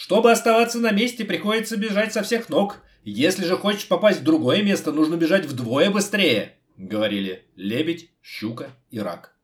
Чтобы оставаться на месте, приходится бежать со всех ног. Если же хочешь попасть в другое место, нужно бежать вдвое быстрее, говорили лебедь, щука и рак.